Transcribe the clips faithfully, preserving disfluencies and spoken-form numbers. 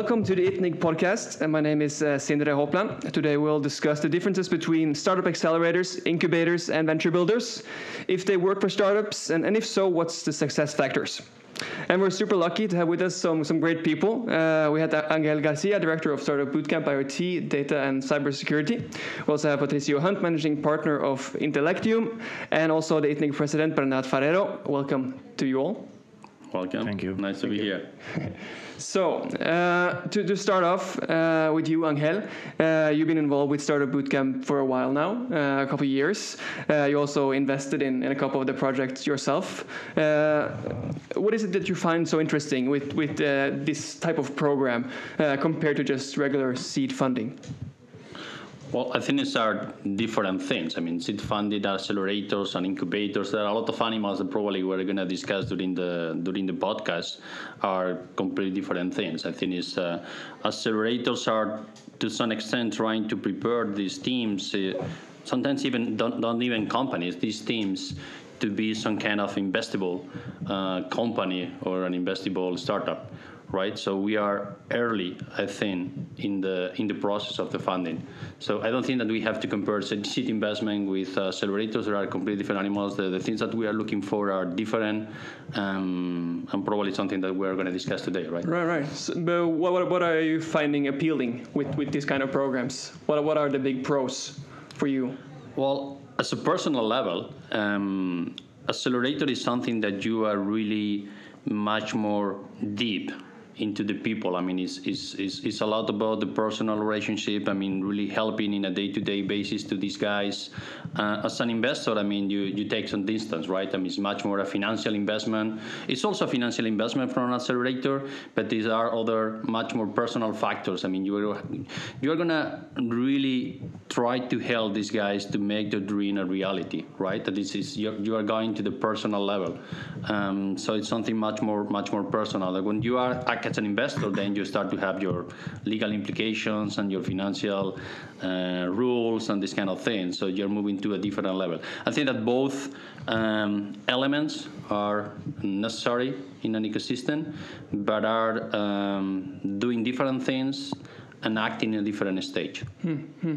Welcome to the ITNIC podcast. And my name is uh, Sindre Hopland. Today we'll discuss the differences between startup accelerators, incubators, and venture builders, if they work for startups, and, and if so, what's the success factors. And we're super lucky to have with us some, some great people. Uh, we had Angel Garcia, Director of Startup Bootcamp IoT, Data and Cybersecurity. We also have Patricio Hunt, Managing Partner of Intellectium, and also the ITNIC President, Bernat Farero. Welcome to you all. Welcome. Thank you. Nice to Thank be you. here. So, uh, to, to start off uh, with you, Angel, uh, you've been involved with Startup Bootcamp for a while now, uh, a couple of years. Uh, you also invested in, in a couple of the projects yourself. Uh, what is it that you find so interesting with, with uh, this type of program uh, compared to just regular seed funding? Well, I think these are different things. I mean, seed-funded accelerators and incubators. There are a lot of animals that probably we're going to discuss during the during the podcast are completely different things. I think it's, uh, accelerators are, to some extent, trying to prepare these teams, uh, sometimes even don't, don't even companies, these teams, to be some kind of investable uh, company or an investable startup. Right, so we are early, I think, in the in the process of the funding. So I don't think that we have to compare seed investment with uh, accelerators. There are completely different animals. The, the things that we are looking for are different, um, and probably something that we're going to discuss today. Right. Right, right. So, but what what are you finding appealing with, with these kind of programs? What what are the big pros for you? Well, as a personal level, um, accelerator is something that you are really much more deep into the people. I mean, it's, it's, it's, it's a lot about the personal relationship. I mean, really helping in a day-to-day basis to these guys. Uh, as an investor, I mean, you, you take some distance, right? I mean, it's much more a financial investment. It's also a financial investment from an accelerator, but these are other much more personal factors. I mean, you're, you're going to really try to help these guys to make their dream a reality, right? That this is, you're, you are going to the personal level. Um, so it's something much more, much more personal. Like when you are as an investor, then you start to have your legal implications and your financial uh, rules and this kind of thing. So you're moving to a different level. I think that both um, elements are necessary in an ecosystem, but are um, doing different things and acting in a different stage. Mm-hmm.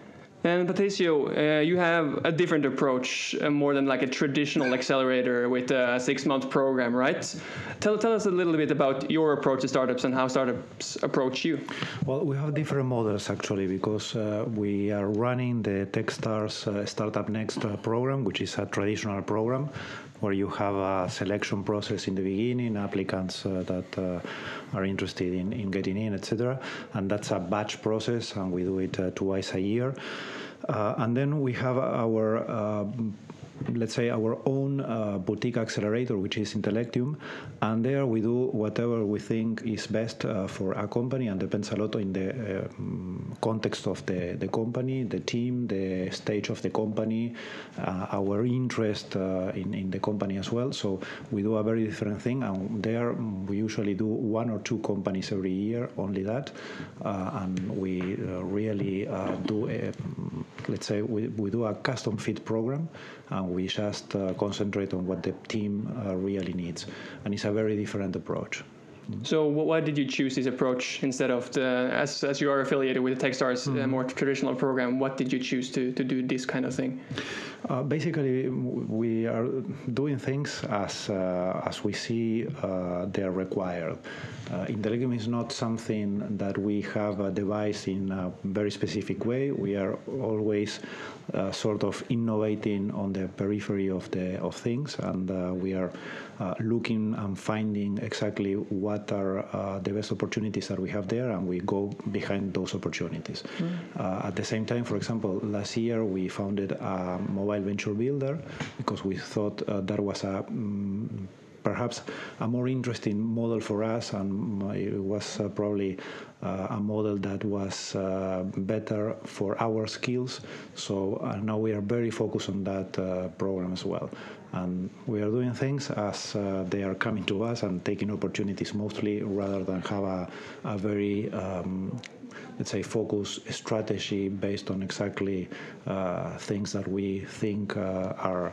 And Patricio, uh, you have a different approach, uh, more than like a traditional accelerator with a six-month program, right? Tell, tell us a little bit about your approach to startups and how startups approach you. Well, we have different models actually, because uh, we are running the Techstars uh, Startup Next uh, program, which is a traditional program where you have a selection process in the beginning, applicants uh, that uh, are interested in, in getting in, et cetera. And that's a batch process, and we do it uh, twice a year. Uh, and then we have our uh, let's say our own uh, boutique accelerator, which is Intellectium, and there we do whatever we think is best uh, for a company, and depends a lot in the uh, context of the, the company, the team, the stage of the company, uh, our interest uh, in, in the company as well. So we do a very different thing, and there we usually do one or two companies every year, only that, uh, and we uh, really uh, do, a, let's say, we, we do a custom fit program, and we just uh, concentrate on what the team uh, really needs. And it's a very different approach. So why did you choose this approach instead of the, as, as you are affiliated with the Techstars, mm-hmm. uh, more traditional program, what did you choose to, to do this kind of thing? Uh, basically, we are doing things as uh, as we see uh, they are required. Uh, Intellectium is not something that we have uh, devised in a very specific way. We are always uh, sort of innovating on the periphery of the of things, and uh, we are uh, looking and finding exactly what are uh, the best opportunities that we have there, and we go behind those opportunities. Mm. Uh, at the same time, for example, last year we founded a mobile venture builder because we thought uh, that was a um, perhaps a more interesting model for us, and it was uh, probably uh, a model that was uh, better for our skills. So uh, now we are very focused on that uh, program as well. And we are doing things as uh, they are coming to us and taking opportunities mostly, rather than have a, a very um, let's say, focus strategy based on exactly uh, things that we think uh, are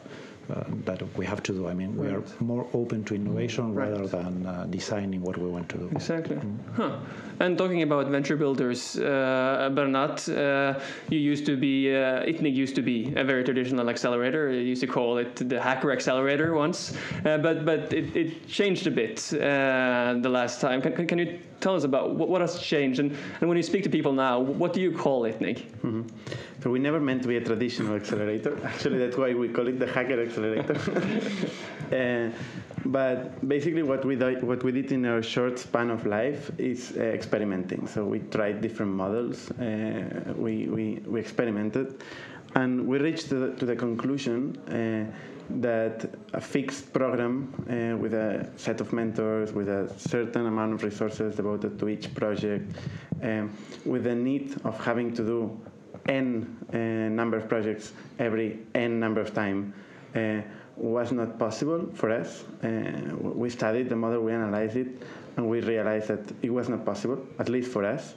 uh, that we have to do. I mean, we Right. are more open to innovation Right. rather than uh, designing what we want to do. Exactly. Huh. And talking about venture builders, uh, Bernat, uh, you used to be, uh, I T N I C used to be a very traditional accelerator. You used to call it the hacker accelerator once, uh, but but it, it changed a bit uh, the last time. Can, can, can you tell us about what, what has changed? And, and when you speak to people now, what do you call I T N I C? Mm-hmm. So we never meant to be a traditional accelerator. Actually, that's why we call it the hacker accelerator. uh, but basically, what we do, what we did in our short span of life is uh, experimenting. So we tried different models. Uh, we, we we experimented, and we reached to the, to the conclusion uh, that a fixed program uh, with a set of mentors, with a certain amount of resources devoted to each project, um, with the need of having to do n uh, number of projects every n number of time uh, was not possible for us. Uh, we studied the model, we analyzed it, and we realized that it was not possible, at least for us.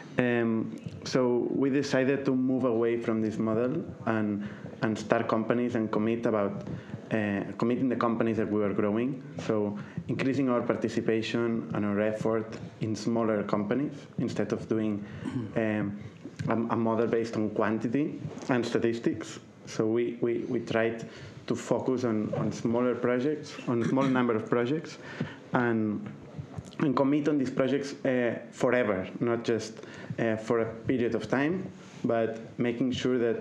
Um, so we decided to move away from this model and and start companies and commit about uh, committing the companies that we were growing. So increasing our participation and our effort in smaller companies instead of doing um, a, a model based on quantity and statistics. So we, we, we tried to focus on, on smaller projects, on a small number of projects, and and commit on these projects uh, forever, not just uh, for a period of time, but making sure that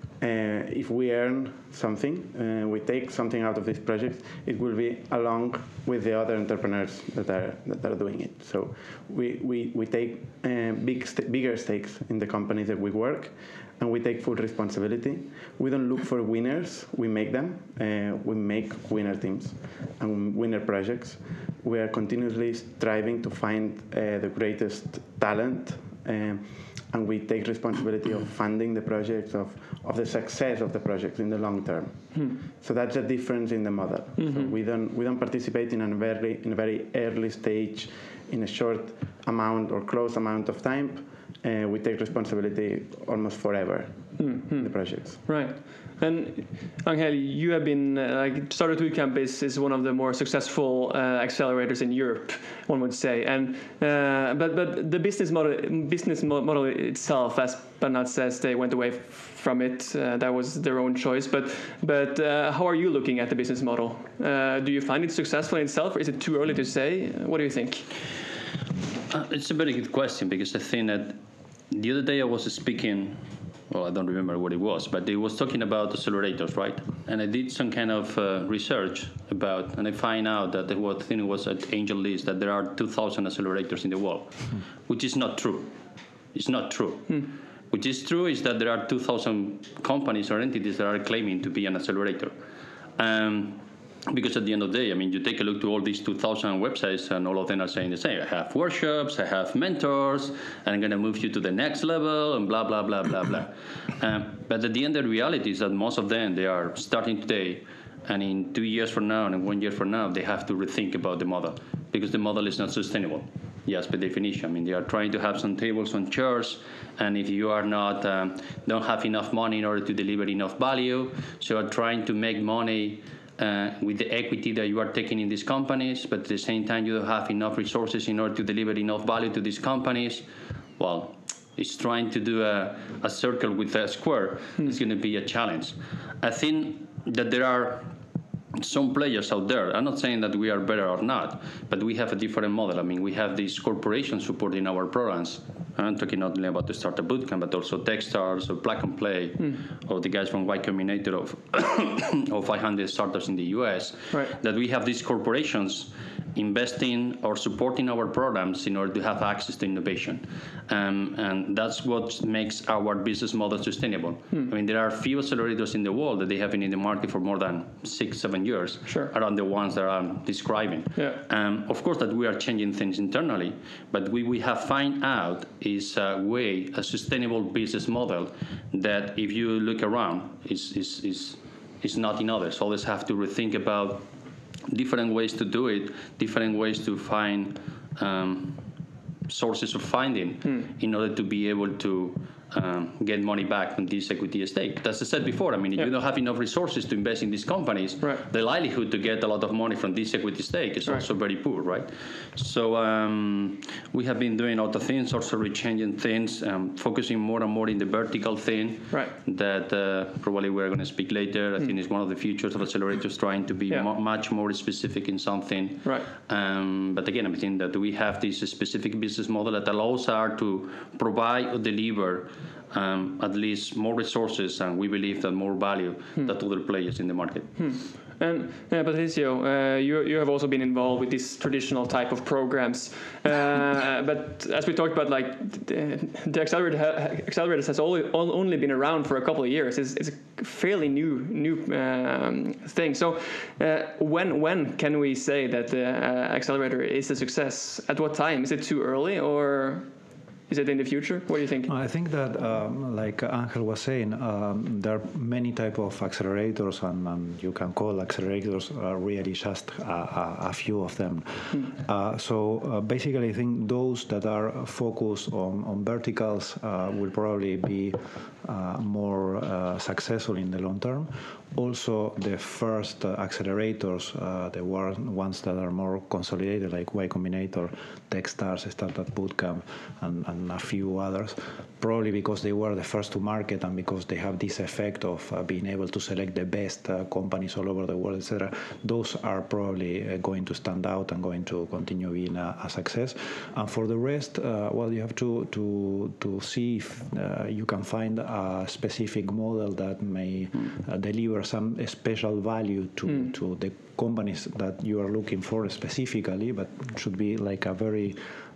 uh, if we earn something, uh, we take something out of these projects, it will be along with the other entrepreneurs that are that are doing it. So we we, we take uh, big st- bigger stakes in the companies that we work, and we take full responsibility. We don't look for winners, we make them. Uh, we make winner teams and winner projects. We are continuously striving to find uh, the greatest talent, um, and we take responsibility of funding the projects, of, of the success of the projects in the long term. Hmm. So that's a difference in the model. Mm-hmm. So we don't we don't participate in a very in a very early stage, in a short amount or close amount of time. Uh, we take responsibility almost forever mm-hmm. in the projects. Right. And Angel, you have been, uh, like, Startup Bootcamp is, is one of the more successful uh, accelerators in Europe, one would say. And uh, but but the business model business model itself, as Bernat says, they went away from it. Uh, that was their own choice. But but uh, how are you looking at the business model? Uh, do you find it successful in itself, or is it too early to say? What do you think? Uh, it's a very good question, because I think that the other day I was speaking, well, I don't remember what it was, but it was talking about accelerators, right? And I did some kind of uh, research about, and I find out that what thing was at AngelList, that there are two thousand accelerators in the world, mm. which is not true. It's not true. Mm. Which is true is that there are two thousand companies or entities that are claiming to be an accelerator. Um, Because at the end of the day, I mean, you take a look to all these two thousand websites, and all of them are saying the same. I have workshops, I have mentors, and I'm going to move you to the next level, and blah, blah, blah, blah, blah. Um, but at the end, the reality is that most of them, they are starting today, and in two years from now, and one year from now, they have to rethink about the model, because the model is not sustainable. Yes, by definition. I mean, they are trying to have some tables on chairs, and if you are not, um, don't have enough money in order to deliver enough value, so you are trying to make money Uh, with the equity that you are taking in these companies, but at the same time you don't have enough resources in order to deliver enough value to these companies, well, it's trying to do a, a circle with a square. Hmm. It's going to be a challenge. I think that there are some players out there. I'm not saying that we are better or not, but we have a different model. I mean, we have these corporations supporting our programs. I'm talking not only about the Startup Bootcamp, but also Techstars or Plug and Play, mm. or the guys from Y Combinator of, of five hundred startups in the U S. Right. That we have these corporations investing or supporting our programs in order to have access to innovation. Um, and that's what makes our business model sustainable. Hmm. I mean, there are few accelerators in the world that they have been in the market for more than six, seven years, sure. around the ones that I'm describing. Yeah. Um, of course, that we are changing things internally, but we, we have found out is a way, a sustainable business model that if you look around, is, is, is, is not in others. Always have to rethink about different ways to do it, different ways to find um, sources of funding hmm. in order to be able to um, get money back from this equity stake. As I said before, I mean, if yeah. you don't have enough resources to invest in these companies, right. the likelihood to get a lot of money from this equity stake is right. also very poor, right? So um, we have been doing other things, also rechanging things, um, focusing more and more in the vertical thing right. that uh, probably we're going to speak later. I mm. think it's one of the features of accelerators, trying to be yeah. mo- much more specific in something. Right. Um, but again, I think that we have this specific business model that allows us to provide or deliver um, at least more resources, and we believe that more value hmm. than other players in the market. Hmm. And uh, Patricio, uh, you you have also been involved with these traditional type of programs, uh, but as we talked about, like the, the accelerator ha- accelerators has only only been around for a couple of years. It's, it's a fairly new new um, thing. So uh, when when can we say that the uh, accelerator is a success? At what time? Is it too early, or is it in the future? What do you think? I think that, um, like Angel was saying, um, there are many type of accelerators, and, and you can call accelerators uh, really just a, a, a few of them. Hmm. Uh, so uh, basically, I think those that are focused on, on verticals uh, will probably be uh, more uh, successful in the long term. Also, the first uh, accelerators, uh, the ones that are more consolidated, like Y Combinator, Techstars, Startup Bootcamp, and, and a few others, probably because they were the first to market and because they have this effect of uh, being able to select the best uh, companies all over the world, et cetera. Those are probably uh, going to stand out and going to continue being a, a success. And for the rest, uh, well, you have to to to see if uh, you can find a specific model that may uh, deliver some special value to, mm. to the companies that you are looking for specifically, but should be like a very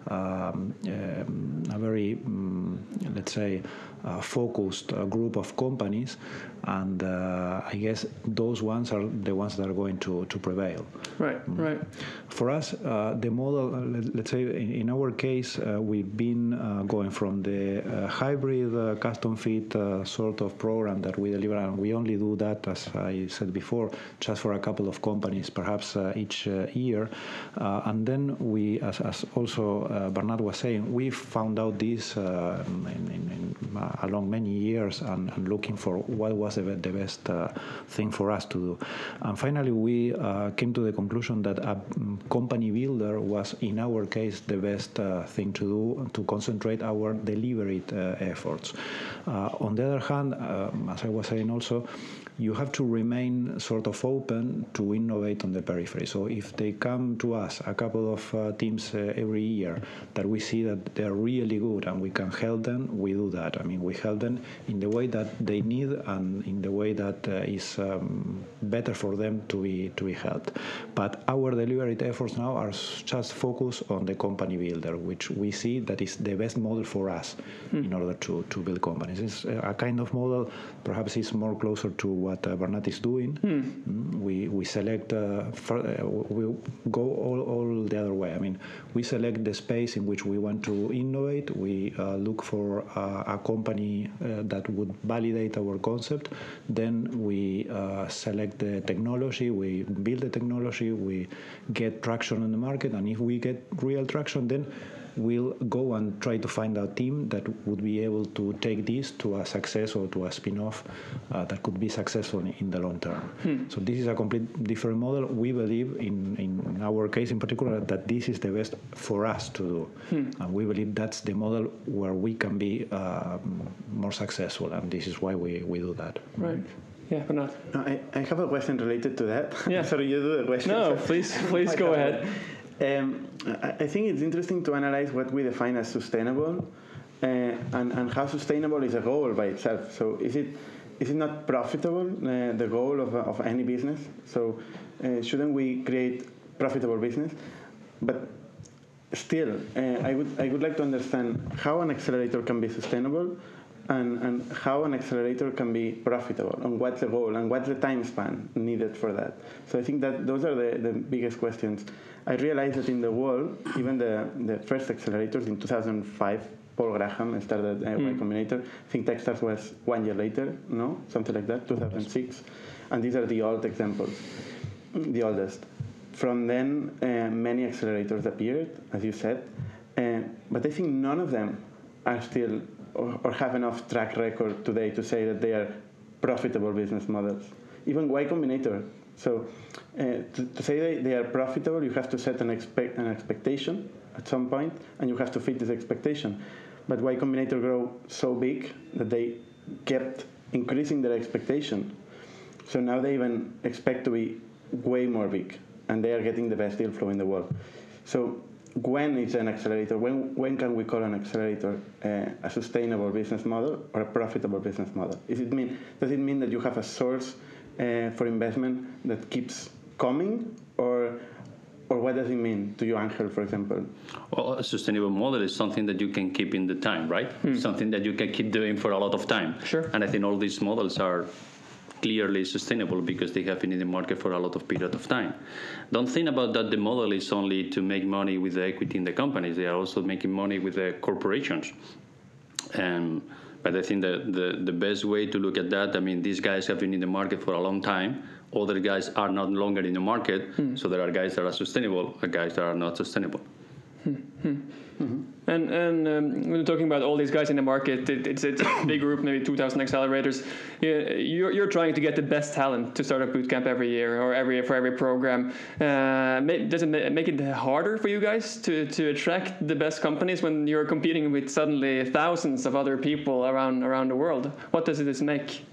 um, um, a very um, let's say uh, focused uh, group of companies, and uh, I guess those ones are the ones that are going to, to prevail. Right, mm. right. For us, uh, the model, uh, let, let's say in, in our case, uh, we've been uh, going from the uh, hybrid uh, custom fit uh, sort of program that we deliver, and we only do that, as I said before, just for a couple of companies, perhaps uh, each uh, year. Uh, and then we, as, as also uh, Bernard was saying, we found out this uh, in, in, in, uh, along many years and, and looking for what was the, the best uh, thing for us to do. And finally, we uh, came to the conclusion that a company builder was, in our case, the best uh, thing to do to concentrate our delivery uh, efforts. Uh, on the other hand, um, as I was saying also, you have to remain sort of open to innovate on the periphery. So if they come to us, a couple of uh, teams uh, every year, that we see that they're really good and we can help them, we do that. I mean, we help them in the way that they need and in the way that uh, is um, better for them to be to be helped. But our delivery efforts now are just focused on the company builder, which we see that is the best model for us mm. in order to, to build companies. It's a kind of model, perhaps it's more closer to what uh, Bernat is doing. Hmm. We we select, uh, for, uh, we go all, all the other way. I mean, we select the space in which we want to innovate. We uh, look for uh, a company uh, that would validate our concept. Then we uh, select the technology. We build the technology. We get traction on the market. And if we get real traction, then we'll go and try to find a team that would be able to take this to a success or to a spin-off uh, that could be successful in the long term. Hmm. So this is a complete different model. We believe, in, in our case in particular, that this is the best for us to do. Hmm. And we believe that's the model where we can be uh, more successful, and this is why we, we do that. Right. Yeah, but not. No, I, I have a question related to that. Yeah. Sorry, you do the question. No, please, please go ahead. Um, I think it's interesting to analyze what we define as sustainable, uh, and, and how sustainable is a goal by itself. So is it is it not profitable, uh, the goal of, of any business? So uh, shouldn't we create profitable business? But still, uh, I would I would like to understand how an accelerator can be sustainable, and, and how an accelerator can be profitable, and what's the goal, and what's the time span needed for that. So I think that those are the, the biggest questions. I realized that in the world, even the, the first accelerators in two thousand five, Paul Graham started uh, mm. Y Combinator. I think Techstars was one year later, no? Something like that, two thousand six. And these are the old examples, the oldest. From then, uh, many accelerators appeared, as you said. Uh, but I think none of them are still or, or have enough track record today to say that they are profitable business models. Even Y Combinator. So uh, to, to say they, they are profitable, you have to set an, expect, an expectation at some point, and you have to fit this expectation. But Y Combinator grew so big that they kept increasing their expectation. So now they even expect to be way more big, and they are getting the best deal flow in the world. So when is an accelerator? When when can we call an accelerator uh, a sustainable business model or a profitable business model? Is it mean does it mean that you have a source uh, for investment that keeps coming, or or what does it mean to you, Angel, for example? Well, a sustainable model is something that you can keep in the time, right? Hmm. Something that you can keep doing for a lot of time. Sure. And I think all these models are clearly sustainable because they have been in the market for a lot of period of time. Don't think about that the model is only to make money with the equity in the companies. They are also making money with the corporations. Um, but I think that the, the best way to look at that, I mean, these guys have been in the market for a long time. Other guys are not longer in the market. Hmm. So there are guys that are sustainable and guys that are not sustainable. Hmm. Hmm. Mm-hmm. And and um, when we're talking about all these guys in the market, it, it's, it's a big group, maybe two thousand accelerators. You're, you're trying to get the best talent to Startup Bootcamp every year or every for every program. Uh, does it make it harder for you guys to, to attract the best companies when you're competing with suddenly thousands of other people around around the world? What does this make?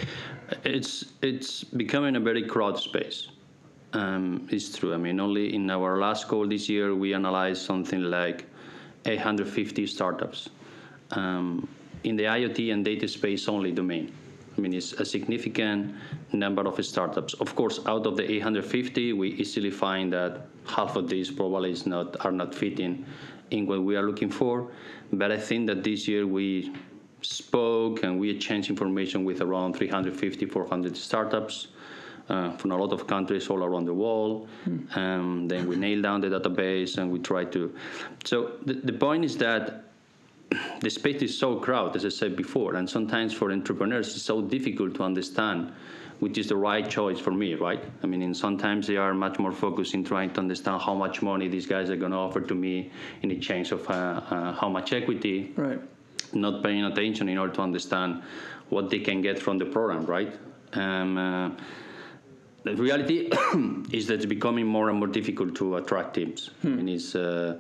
It's it's becoming a very crowded space. Um, it's true. I mean, only in our last call this year, we analyzed something like eight hundred fifty startups um, in the IoT and data space only domain. I mean, it's a significant number of startups. Of course, out of the eight hundred fifty, we easily find that half of these probably is not are not fitting in what we are looking for. But I think that this year we spoke and we exchanged information with around three hundred fifty, four hundred startups. Uh, from a lot of countries all around the world. Mm. Um, then we nail down the database and we try to. So the, the point is that the space is so crowded, as I said before, and sometimes for entrepreneurs it's so difficult to understand which is the right choice for me, right? I mean, and sometimes they are much more focused in trying to understand how much money these guys are going to offer to me in exchange of uh, uh, how much equity, right? Not paying attention in order to understand what they can get from the program, right? Um, uh, The reality is that it's becoming more and more difficult to attract teams. Hmm. I mean, it's, uh,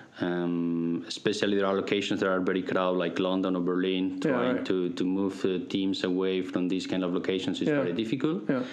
um, especially there are locations that are very crowded, like London or Berlin. Trying yeah, right. to, to move uh, teams away from these kind of locations is yeah. very difficult. Yeah.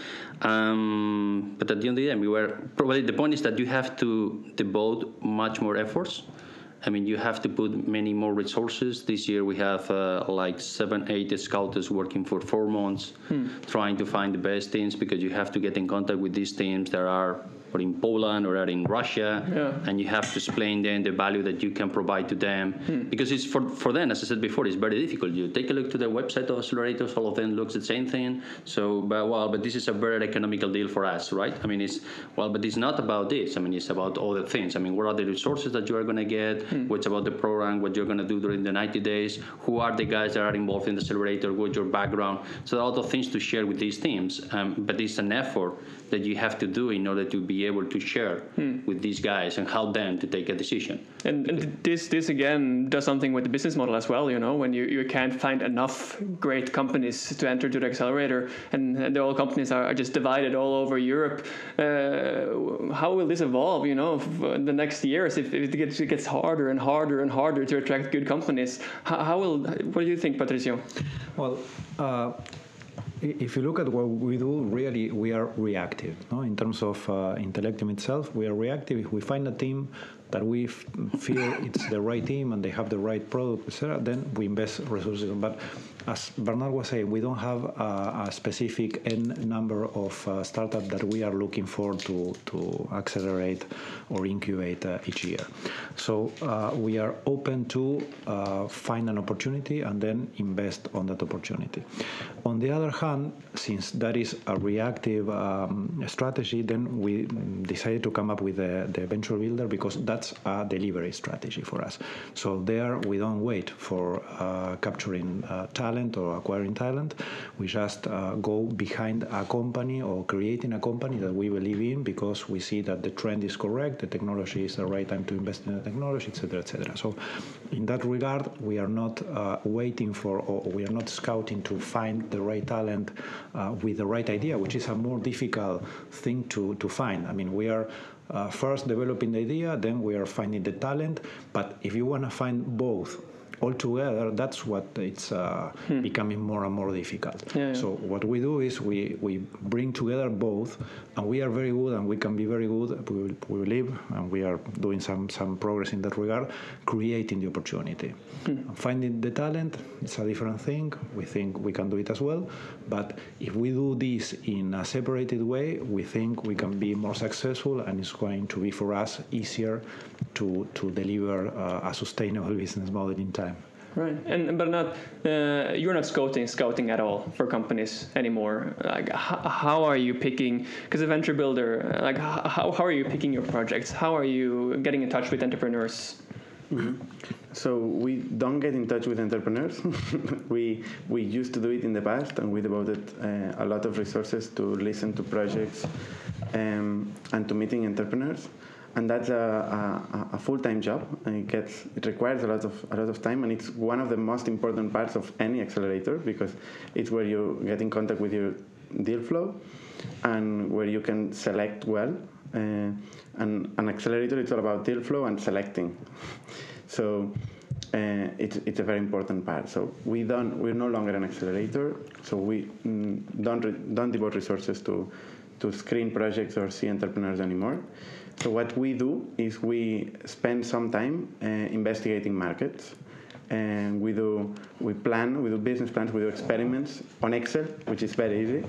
Um, but at the end of the day, we were probably the point is that you have to devote much more efforts. I mean, you have to put many more resources. This year we have uh, like seven, eight scouters working for four months, hmm. trying to find the best teams because you have to get in contact with these teams that are or in Poland or are in Russia, yeah. and you have to explain them the value that you can provide to them. Hmm. Because it's for, for them, as I said before, it's very difficult. You take a look to the website of accelerators, all of them looks the same thing. So, but well, but this is a very economical deal for us, right? I mean, it's, well, but it's not about this. I mean, it's about other things. I mean, what are the resources that you are going to get? Hmm. What's about the program? What you're going to do during the ninety days? Who are the guys that are involved in the accelerator? What's your background? So there are a lot of things to share with these teams, um, but it's an effort that you have to do in order to be able to share hmm. with these guys and help them to take a decision. And, and this this again does something with the business model as well, you know, when you, you can't find enough great companies to enter to the accelerator and, and the all companies are, are just divided all over Europe. Uh, how will this evolve, you know, in the next years if, if it, gets, it gets harder and harder and harder to attract good companies? How, how will, what do you think, Patricio? Well, uh, if you look at what we do, really, we are reactive. No? In terms of uh, Intellectium itself, we are reactive. If we find a team that we f- feel it's the right team and they have the right product, et cetera, then we invest resources. But as Bernard was saying, we don't have a, a specific N number of uh, startups that we are looking for to, to accelerate or incubate uh, each year. So uh, we are open to uh, find an opportunity and then invest on that opportunity. On the other hand, since that is a reactive um, strategy, then we decided to come up with the, the venture builder because that that's a delivery strategy for us. So there we don't wait for uh, capturing uh, talent or acquiring talent. We just uh, go behind a company or creating a company that we believe in because we see that the trend is correct, the technology is the right time to invest in the technology, et cetera, et cetera. So in that regard, we are not uh, waiting for, or we are not scouting to find the right talent uh, with the right idea, which is a more difficult thing to, to find. I mean, we are uh, first developing the idea, then we are finding the talent. But if you want to find both altogether, that's what it's uh, hmm. becoming more and more difficult. Yeah, yeah. So what we do is we, we bring together both, and we are very good, and we can be very good, we, we believe, and we are doing some, some progress in that regard, creating the opportunity. Hmm. Finding the talent, it's a different thing. We think we can do it as well, but if we do this in a separated way, we think we can be more successful, and it's going to be for us easier to, to deliver uh, a sustainable business model in time. Right, and but not uh, you're not scouting scouting at all for companies anymore. Like, how, how are you picking? Because a venture builder, like how how are you picking your projects? How are you getting in touch with entrepreneurs? Mm-hmm. So we don't get in touch with entrepreneurs. we we used to do it in the past, and we devoted uh, a lot of resources to listen to projects um, and to meeting entrepreneurs. And that's a, a, a full-time job, and it gets it requires a lot of a lot of time, and it's one of the most important parts of any accelerator because it's where you get in contact with your deal flow, and where you can select well. Uh, and an accelerator, it's all about deal flow and selecting. So uh, it's it's a very important part. So we don't we're no longer an accelerator. So we mm, don't re, don't devote resources to to screen projects or see entrepreneurs anymore. So what we do is we spend some time uh, investigating markets, and we do we plan, we do business plans, we do experiments on Excel, which is very easy,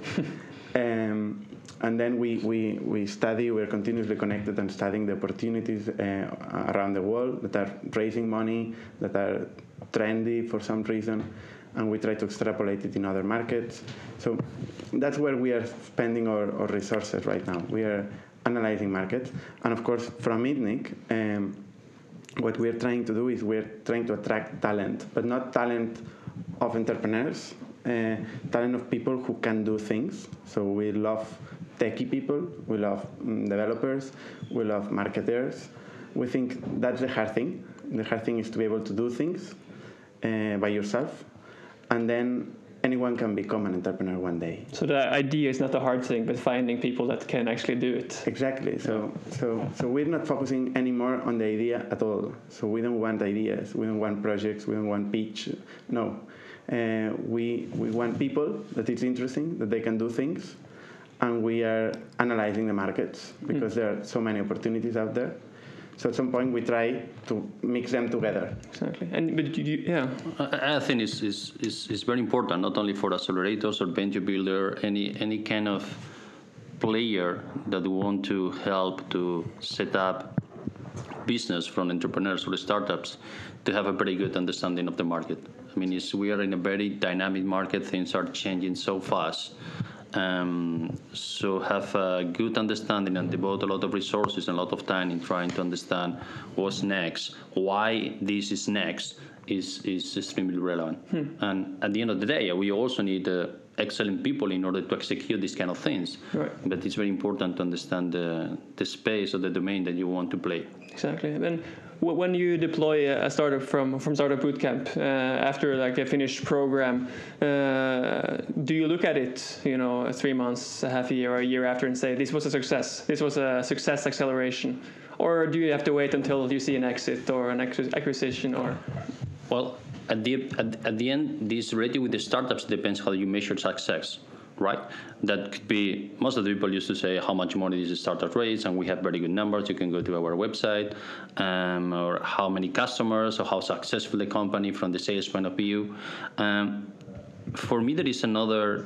um, and then we, we, we study. We're continuously connected and studying the opportunities uh, around the world that are raising money, that are trendy for some reason, and we try to extrapolate it in other markets. So that's where we are spending our, our resources right now. We are analyzing markets, and of course from ITNIC, um, what we're trying to do is we're trying to attract talent, but not talent of entrepreneurs, uh, talent of people who can do things. So we love techie people, we love um, developers, we love marketers. We think that's the hard thing. The hard thing is to be able to do things uh, by yourself, and then anyone can become an entrepreneur one day. So the idea is not the hard thing, but finding people that can actually do it. Exactly. So, so, so we're not focusing anymore on the idea at all. So we don't want ideas. We don't want projects. We don't want pitch. No. Uh, we we want people that it's interesting, that they can do things, and we are analyzing the markets because mm. there are so many opportunities out there. So at some point we try to mix them together. Exactly, and but you, yeah, I, I think it's, it's, it's, it's very important, not only for accelerators or venture builder, any any kind of player that want to help to set up business from entrepreneurs or startups, to have a very good understanding of the market. I mean, it's, we are in a very dynamic market. Things are changing so fast. Um, so have a good understanding and devote a lot of resources and a lot of time in trying to understand what's next, why this is next is, is extremely relevant. Hmm. And at the end of the day, we also need uh, excellent people in order to execute these kind of things. Right. But it's very important to understand the, the space or the domain that you want to play. Exactly. And when you deploy a startup from from Startup Bootcamp uh, after like a finished program, uh, do you look at it, you know, three months, a half a year, or a year after, and say this was a success, this was a success acceleration, or do you have to wait until you see an exit or an acquisition, or? Well, at the at, at the end, this already with the startups depends how you measure success. Right? That could be, most of the people used to say how much money is a startup raise, and we have very good numbers. You can go to our website, um, or how many customers, or how successful the company from the sales point of view. Um, for me, there is another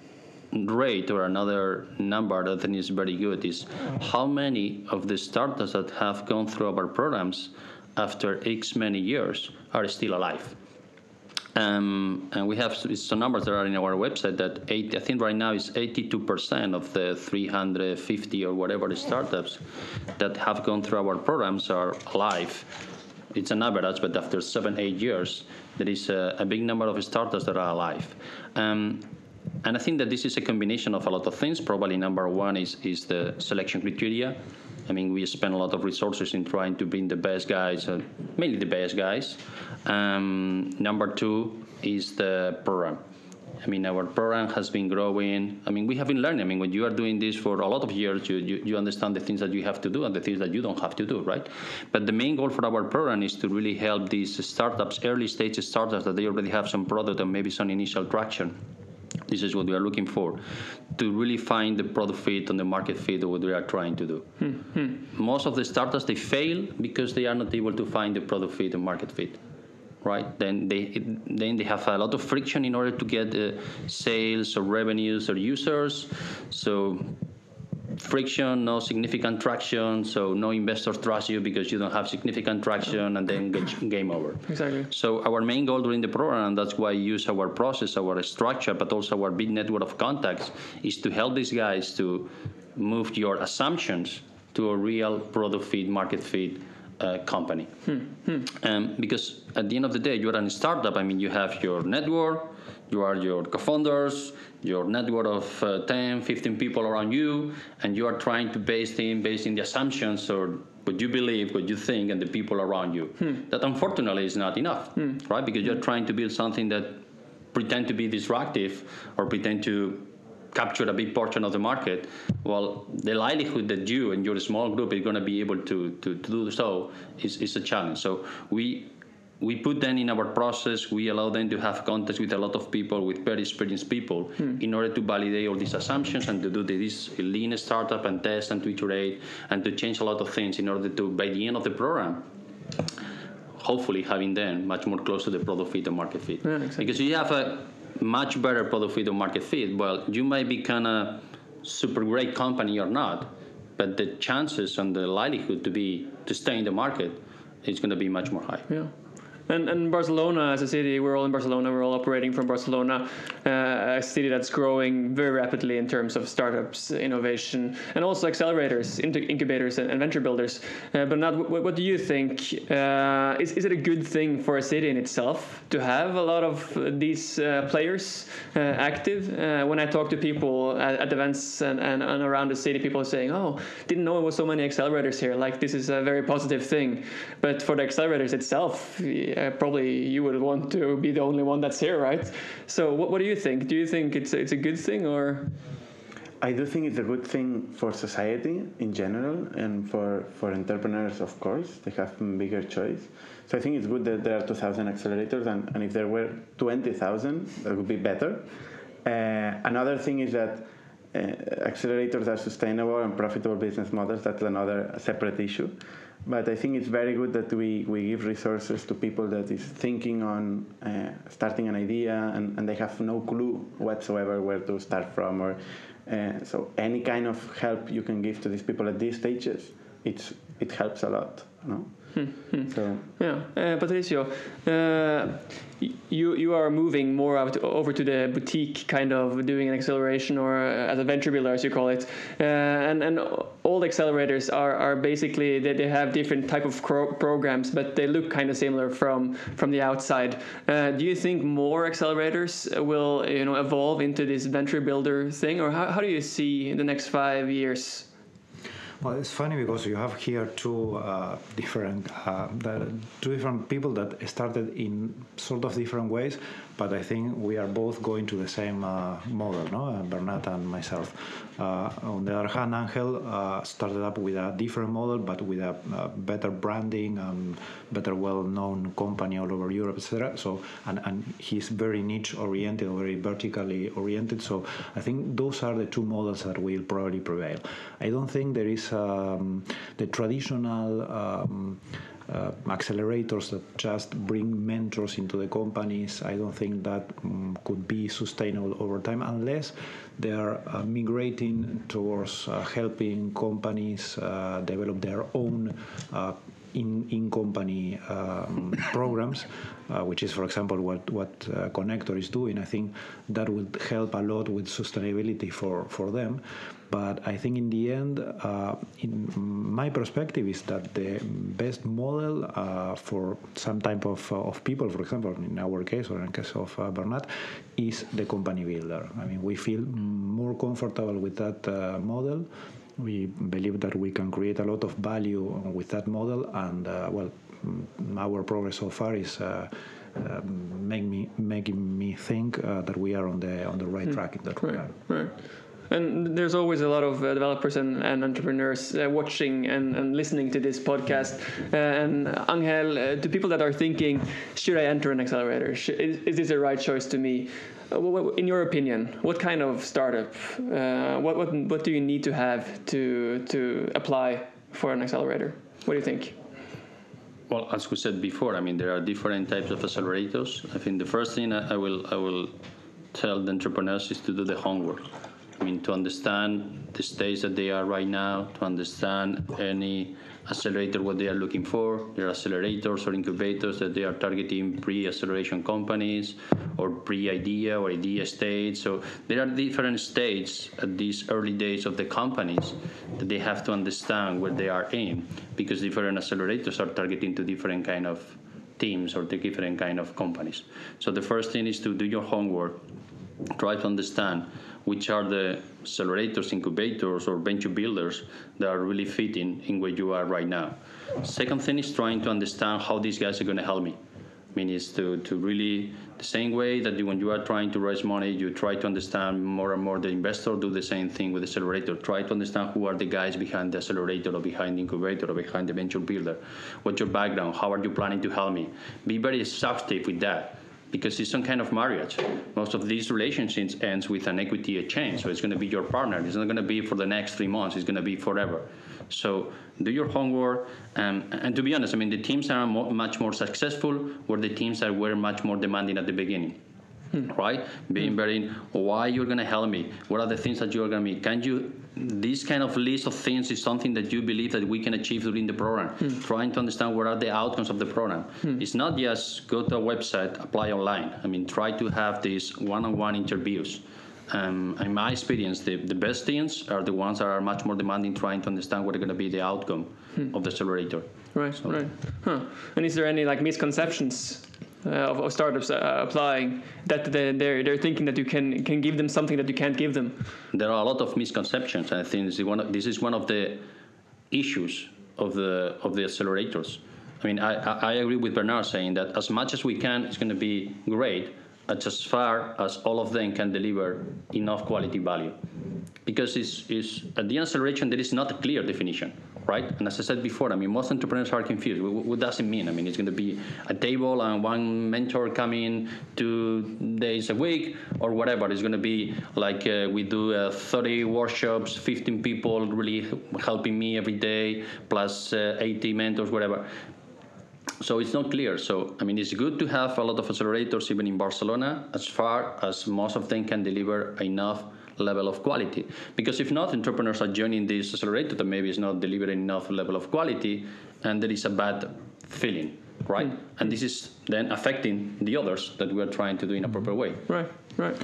rate or another number that I think is very good, is how many of the startups that have gone through our programs after X many years are still alive. Um, and we have some numbers that are in our website that eight, I think right now is eighty-two percent of the three hundred fifty or whatever startups that have gone through our programs are alive. It's an average, but after seven, eight years, there is a, a big number of startups that are alive. Um, and I think that this is a combination of a lot of things. Probably number one is, is the selection criteria. I mean, we spend a lot of resources in trying to bring the best guys, uh, mainly the best guys. Um, number two is the program. I mean, our program has been growing. I mean, we have been learning. I mean, when you are doing this for a lot of years, you, you, you understand the things that you have to do and the things that you don't have to do, right? But the main goal for our program is to really help these startups, early stage startups that they already have some product and maybe some initial traction. This is what we are looking for, to really find the product fit and the market fit of what we are trying to do. Mm-hmm. Most of the startups, they fail because they are not able to find the product fit and market fit. Right, then they it, then they have a lot of friction in order to get uh, sales or revenues or users. So friction, no significant traction. So no investors trust you because you don't have significant traction, and then get, game over. Exactly. So our main goal during the program, and that's why I use our process, our structure, but also our big network of contacts, is to help these guys to move your assumptions to a real product fit, market fit. Uh, company. Hmm. Hmm. Um, because at the end of the day, you're a startup. I mean, you have your network, you are your co-founders, your network of uh, ten, fifteen people around you, and you are trying to base things based in the assumptions or what you believe, what you think, and the people around you. Hmm. That unfortunately is not enough, hmm. right? Because you're trying to build something that pretend to be disruptive or pretend to capture a big portion of the market. Well, the likelihood that you and your small group is going to be able to, to, to do so is, is a challenge. So we we put them in our process. We allow them to have contacts with a lot of people, with very experienced people, hmm. in order to validate all these assumptions and to do this lean startup and test and to iterate and to change a lot of things in order to, by the end of the program, hopefully having them much more close to the product fit and market fit. Yeah, exactly. Because you have a much better product fit or market fit, well, you might be kind of super great company or not, but the chances and the likelihood to be to stay in the market is going to be much more high. Yeah. And, and Barcelona as a city, we're all in Barcelona, we're all operating from Barcelona, uh, a city that's growing very rapidly in terms of startups, innovation, and also accelerators, incubators, and, and venture builders. Uh, but not, what, what do you think? Uh, is, is it a good thing for a city in itself to have a lot of these uh, players uh, active? Uh, when I talk to people at, at events and, and, and around the city, people are saying, oh, didn't know there was so many accelerators here. Like, this is a very positive thing. But for the accelerators itself, Uh, probably you would want to be the only one that's here, right? So what, what do you think? Do you think it's, it's a good thing, or? I do think it's a good thing for society in general, and for, for entrepreneurs, of course. They have a bigger choice. So I think it's good that there are two thousand accelerators, and, and if there were twenty thousand, that would be better. Uh, another thing is that uh, accelerators are sustainable and profitable business models. That's another separate issue. But I think it's very good that we, we give resources to people that is thinking on uh, starting an idea, and, and they have no clue whatsoever where to start from. Or uh, so any kind of help you can give to these people at these stages, it's it helps a lot. You know? Hmm. So yeah, uh, Patricio, uh, you you are moving more out over to the boutique kind of doing an acceleration, or uh, as a venture builder, as you call it, uh, and and all the accelerators are are basically they, they have different type of cro- programs, but they look kind of similar from from the outside. Uh, do you think more accelerators will you know evolve into this venture builder thing, or how how do you see in the next five years? Well, it's funny because you have here two uh, different uh, the, two different people that started in sort of different ways, but I think we are both going to the same uh, model, no? Uh, Bernat and myself. Uh, on the other hand, Angel uh, started up with a different model, but with a, a better branding and better well-known company all over Europe, et cetera. So, and, and he's very niche-oriented, very vertically oriented. So, I think those are the two models that will probably prevail. I don't think there is um, the traditional um, uh, accelerators that just bring mentors into the companies. I don't think that um, could be sustainable over time unless they are uh, migrating towards uh, helping companies uh, develop their own uh, in in company um, programs, uh, which is, for example, what what uh, Connector is doing. I think that would help a lot with sustainability for for them. But I think in the end, uh, in my perspective, is that the best model uh, for some type of uh, of people, for example, in our case or in the case of uh, Bernat, is the company builder. I mean, we feel more comfortable with that uh, model. We believe that we can create a lot of value with that model, and uh, well, our progress so far is uh, uh, make me making me think uh, that we are on the on the right mm. track in that regard. Right. right. And there's always a lot of uh, developers and, and entrepreneurs uh, watching and, and listening to this podcast. Uh, and Angel, uh, to people that are thinking, should I enter an accelerator? Should, is, is this the right choice to me? Uh, what, in your opinion, what kind of startup? Uh, what, what what do you need to have to to apply for an accelerator? What do you think? Well, as we said before, I mean, there are different types of accelerators. I think the first thing I will I will tell the entrepreneurs is to do the homework. I mean, to understand the stage that they are right now, to understand any accelerator, what they are looking for. There are accelerators or incubators that they are targeting pre-acceleration companies or pre-idea or idea stage. So there are different stages at these early days of the companies that they have to understand where they are in, because different accelerators are targeting to different kind of teams or to different kind of companies. So the first thing is to do your homework, try to understand which are the accelerators, incubators, or venture builders that are really fitting in where you are right now. Second thing is trying to understand how these guys are going to help me. I mean, it's to, to really, the same way that you, when you are trying to raise money, you try to understand more and more the investor, do the same thing with the accelerator. Try to understand who are the guys behind the accelerator or behind the incubator or behind the venture builder. What's your background? How are you planning to help me? Be very exhaustive with that, because it's some kind of marriage. Most of these relationships ends with an equity exchange. So it's going to be your partner. It's not going to be for the next three months. It's going to be forever. So do your homework. Um, and to be honest, I mean, the teams are mo- much more successful where the teams that were much more demanding at the beginning. Hmm. Right? Being hmm. very, why you're going to help me? What are the things that you're going to be? Can you, this kind of list of things is something that you believe that we can achieve during the program. Hmm. Trying to understand what are the outcomes of the program. Hmm. It's not just go to a website, apply online. I mean, try to have these one-on-one interviews. Um, in my experience, the, the best teams are the ones that are much more demanding, trying to understand what are going to be the outcome hmm. of the accelerator. Right, so. right. Huh. And is there any like misconceptions Uh, of, of startups uh, applying that they, they're they're thinking that you can can give them something that you can't give them? There are a lot of misconceptions. I think this is one of, this is one of the issues of the of the accelerators. I mean, I, I agree with Bernard saying that as much as we can, it's going to be great, as far as all of them can deliver enough quality value. Because it's, it's, at the acceleration, there is not a clear definition, right? And as I said before, I mean, most entrepreneurs are confused. What, what does it mean? I mean, it's going to be a table and one mentor coming two days a week or whatever. It's going to be like uh, we do uh, thirty workshops, fifteen people really helping me every day, plus uh, eighty mentors, whatever. So it's not clear. So, I mean, it's good to have a lot of accelerators, even in Barcelona, as far as most of them can deliver enough level of quality. Because if not, entrepreneurs are joining this accelerator that maybe is not delivering enough level of quality, and there is a bad feeling, right? Mm. And this is then affecting the others that we are trying to do in a proper way. Right, right.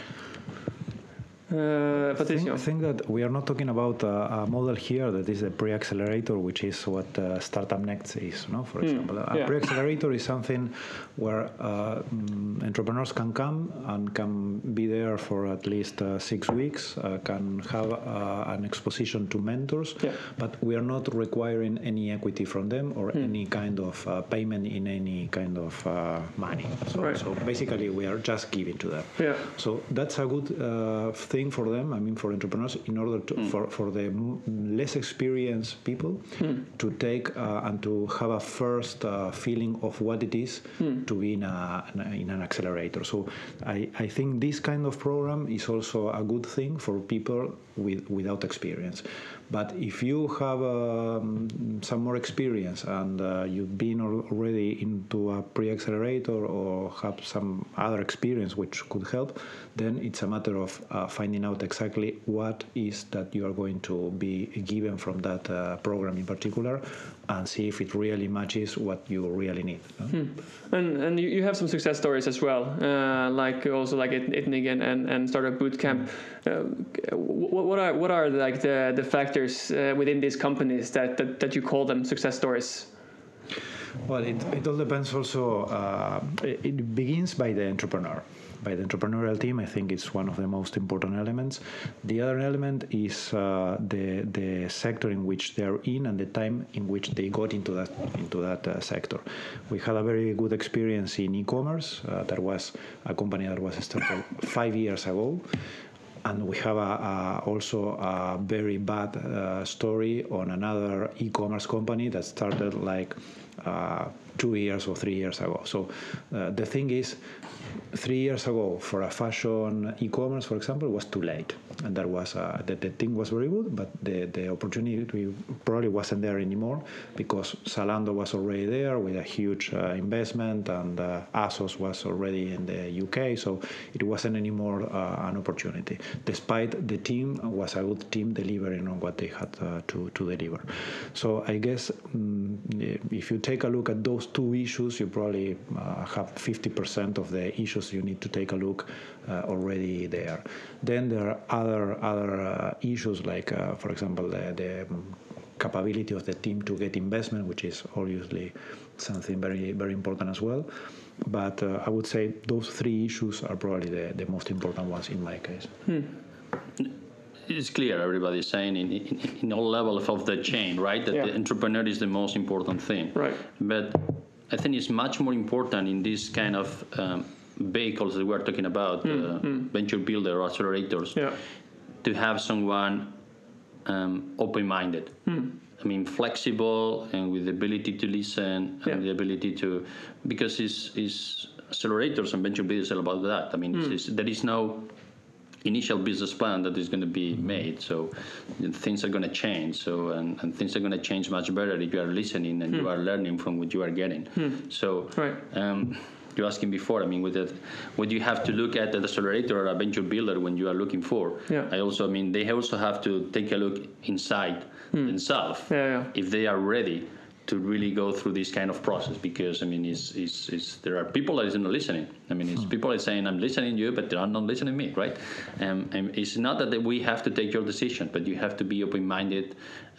Uh, Patricio. I think, think that we are not talking about a, a model here that is a pre-accelerator, which is what uh, Startup Next is, no? For mm, example, a yeah. pre-accelerator is something where uh, um, entrepreneurs can come and can be there for at least uh, six weeks, uh, can have uh, an exposition to mentors, yeah. but we are not requiring any equity from them or mm. any kind of uh, payment in any kind of uh, money. So, right. so basically, we are just giving to them. Yeah. So that's a good uh, thing for them, I mean, for entrepreneurs, in order to, mm. for, for the less experienced people mm. to take uh, and to have a first uh, feeling of what it is mm. to be in, a, in an accelerator. So I, I think this kind of program is also a good thing for people with, without experience. But if you have um, some more experience and uh, you've been already into a pre-accelerator or have some other experience which could help, then it's a matter of uh, finding finding out exactly what is that you are going to be given from that uh, program in particular, and see if it really matches what you really need. No? Hmm. And and you, you have some success stories as well, uh, like also like at I T N I G and, and, and Startup Bootcamp. Uh, what, what are what are like the the factors uh, within these companies that, that that you call them success stories? Well, it, it all depends also. Uh, it, it begins by the entrepreneur. By the entrepreneurial team, I think it's one of the most important elements. The other element is uh, the the sector in which they are in and the time in which they got into that into that uh, sector. We had a very good experience in e-commerce. Uh, there was a company that was started five years ago. And we have a, a, also a very bad uh, story on another e-commerce company that started like uh, two years or three years ago. So uh, the thing is, three years ago for a fashion e-commerce, for example, was too late. And there was uh, the, the thing was very good, but the, the opportunity probably wasn't there anymore because Zalando was already there with a huge uh, investment, and uh, ASOS was already in the U K, so it wasn't anymore uh, an opportunity. Despite the team was a good team delivering on what they had uh, to, to deliver. So I guess um, if you take a look at those two issues, you probably uh, have fifty percent of the issues you need to take a look uh, already there. Then there are other other uh, issues like, uh, for example, the, the capability of the team to get investment, which is obviously something very very important as well. But uh, I would say those three issues are probably the, the most important ones in my case. Hmm. It's clear everybody's saying in, in, in all levels of the chain, right? That yeah. the entrepreneur is the most important thing. Right. But I think it's much more important in this kind of um, vehicles that we're talking about, mm, uh, mm. venture builder or accelerators, yeah. to have someone um, open-minded. Mm. I mean, flexible and with the ability to listen yeah. and the ability to, because it's, it's accelerators and venture builders are about that. I mean, mm. it's, it's, there is no initial business plan that is going to be made, so things are going to change. So and, and things are going to change much better if you are listening and mm. you are learning from what you are getting. Mm. So right. um, you're asking before. I mean, with that, what you have to look at an accelerator or a venture builder when you are looking for. Yeah. I also, I mean, they also have to take a look inside mm. themselves yeah, yeah. if they are ready to really go through this kind of process, because I mean, it's, it's, it's, there are people that isn't listening. I mean, it's hmm. people are saying, I'm listening to you, but they're not listening to me, right? Um, and it's not that we have to take your decision, but you have to be open-minded,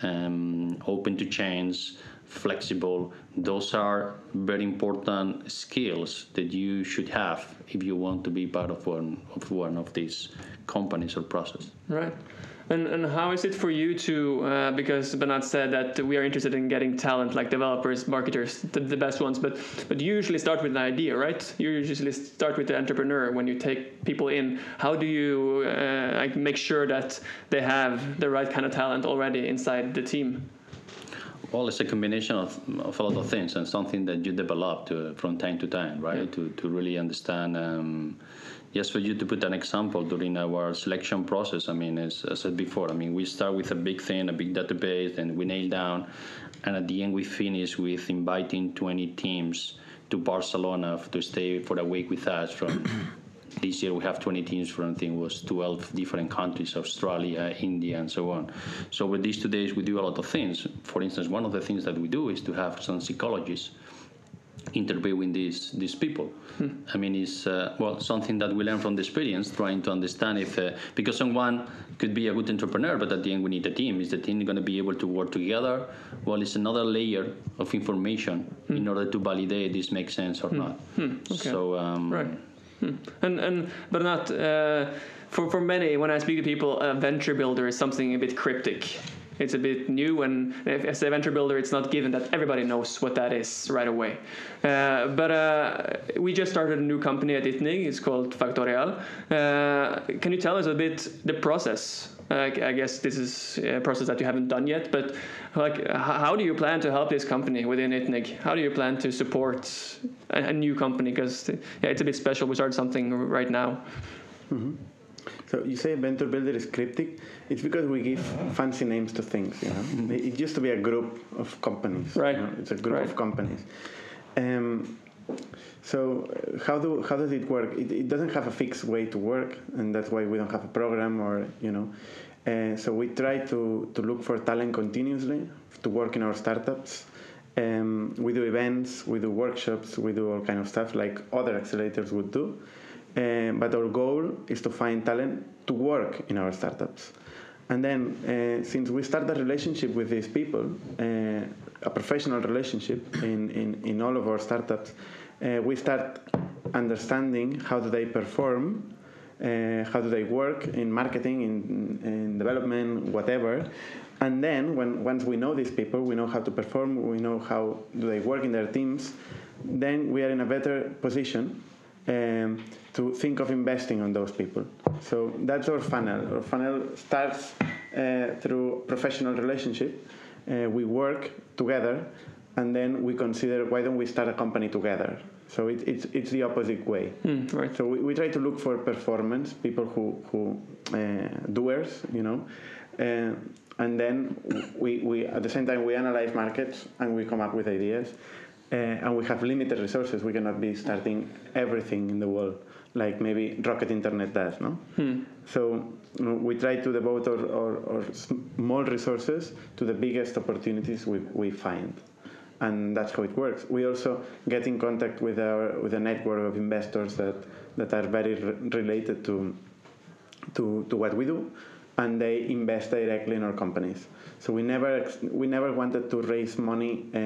um, open to change, flexible. Those are very important skills that you should have if you want to be part of one of one of these companies or process. Right. And and how is it for you to, uh, because Bernat said that we are interested in getting talent like developers, marketers, the, the best ones, but but you usually start with an idea, right? You usually start with the entrepreneur when you take people in. How do you uh, like make sure that they have the right kind of talent already inside the team? Well, it's a combination of, of a lot of things and something that you develop to, from time to time, right? Yeah. To, to really understand. Um, Just for you to put an example, during our selection process, I mean, as I said before, I mean, we start with a big thing, a big database, and we nail down, and at the end we finish with inviting twenty teams to Barcelona to stay for a week with us. From this year we have twenty teams from, I think it was twelve different countries, Australia, India, and so on. So with these two days we do a lot of things. For instance, one of the things that we do is to have some psychologists interviewing these these people. Hmm. I mean, it's uh, well something that we learn from the experience, trying to understand if uh, because someone could be a good entrepreneur, but at the end we need a team. Is the team going to be able to work together? Well, it's another layer of information hmm. in order to validate this makes sense or hmm. not. Hmm. Okay. So um, right. Hmm. And and but not uh, for for many. When I speak to people, a venture builder is something a bit cryptic. It's a bit new, and as a venture builder, it's not given that everybody knows what that is right away. Uh, but uh, we just started a new company at I T N I G. It's called Factorial. Uh, can you tell us a bit the process? Uh, I guess this is a process that you haven't done yet, but like, how do you plan to help this company within I T N I G? How do you plan to support a, a new company? Because yeah, it's a bit special. We started something right now. Mm-hmm. So you say venture builder is cryptic. It's because we give fancy names to things. You know, mm-hmm. It used to be a group of companies. Right. You know? It's a group right. of companies. Um, so uh, how do how does it work? It, it doesn't have a fixed way to work, and that's why we don't have a program or you know. Uh, so we try to to look for talent continuously to work in our startups. Um, we do events, we do workshops, we do all kind of stuff like other accelerators would do. Uh, but our goal is to find talent to work in our startups. And then, uh, since we start a relationship with these people, uh, a professional relationship in, in, in all of our startups, uh, we start understanding how do they perform, uh, how do they work in marketing, in, in development, whatever. And then, when once we know these people, we know how to perform, we know how do they work in their teams, then we are in a better position um, to think of investing on those people. So that's our funnel. Our funnel starts uh, through professional relationship. Uh, we work together, and then we consider why don't we start a company together. So it, it's it's the opposite way. Mm, right. So we, we try to look for performance, people who who uh, doers, you know. Uh, And then we, we, at the same time, we analyze markets and we come up with ideas. Uh, and we have limited resources. We cannot be starting everything in the world like maybe Rocket Internet does, no? Hmm. So you know, we try to devote our, our, our small resources to the biggest opportunities we, we find. And that's how it works. We also get in contact with our with a network of investors that, that are very re- related to, to to what we do. And they invest directly in our companies. So we never we never wanted to raise money uh,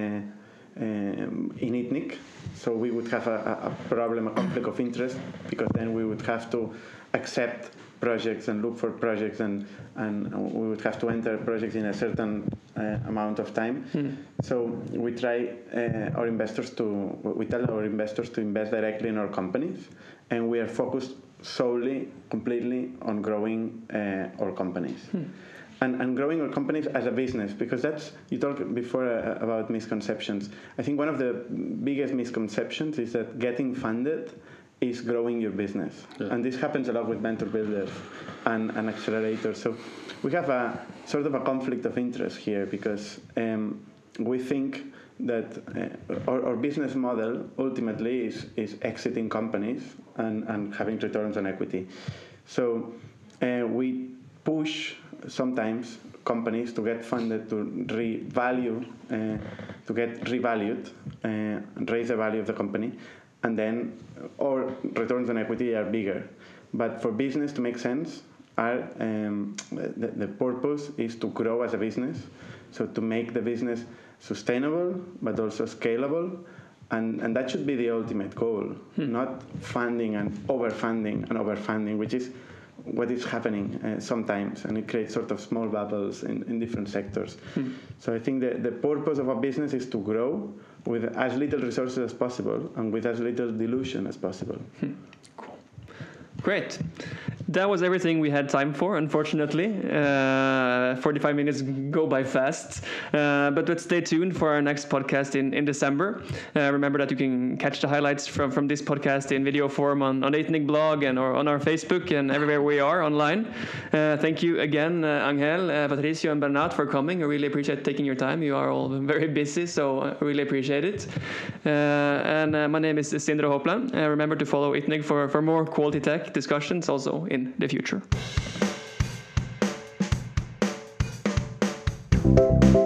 um, in ITNIC. So we would have a, a problem, a conflict of interest, because then we would have to accept projects and look for projects, and, and we would have to enter projects in a certain uh, amount of time. Mm. So we try uh, our investors to, we tell our investors to invest directly in our companies, and we are focused solely, completely on growing uh, our companies. Hmm. And, and growing our companies as a business, because that's, you talked before uh, about misconceptions. I think one of the biggest misconceptions is that getting funded is growing your business. Yeah. And this happens a lot with venture builders and, and accelerators. So we have a sort of a conflict of interest here, because um, we think that uh, our, our business model ultimately is, is exiting companies and, and having returns on equity. So uh, we push sometimes companies to get funded to revalue, uh, to get revalued, uh, and raise the value of the company, and then our returns on equity are bigger. But for business to make sense, our, um, the, the purpose is to grow as a business, so to make the business sustainable, but also scalable, and, and that should be the ultimate goal, hmm. not funding and overfunding and overfunding, which is what is happening uh, sometimes, and it creates sort of small bubbles in, in different sectors. Hmm. So I think that the purpose of a business is to grow with as little resources as possible and with as little dilution as possible. Hmm. Cool. Great. That was everything we had time for, unfortunately. Uh, forty-five minutes go by fast. Uh, but let's stay tuned for our next podcast in, in December. Uh, remember that you can catch the highlights from, from this podcast in video form on, on ITNIC blog and or on our Facebook and everywhere we are online. Uh, thank you again, uh, Angel, uh, Patricio, and Bernat for coming. I really appreciate taking your time. You are all very busy, so I really appreciate it. Uh, and uh, my name is Sindre Hopland. Uh, remember to follow ITNIC for, for more quality tech discussions also in the future.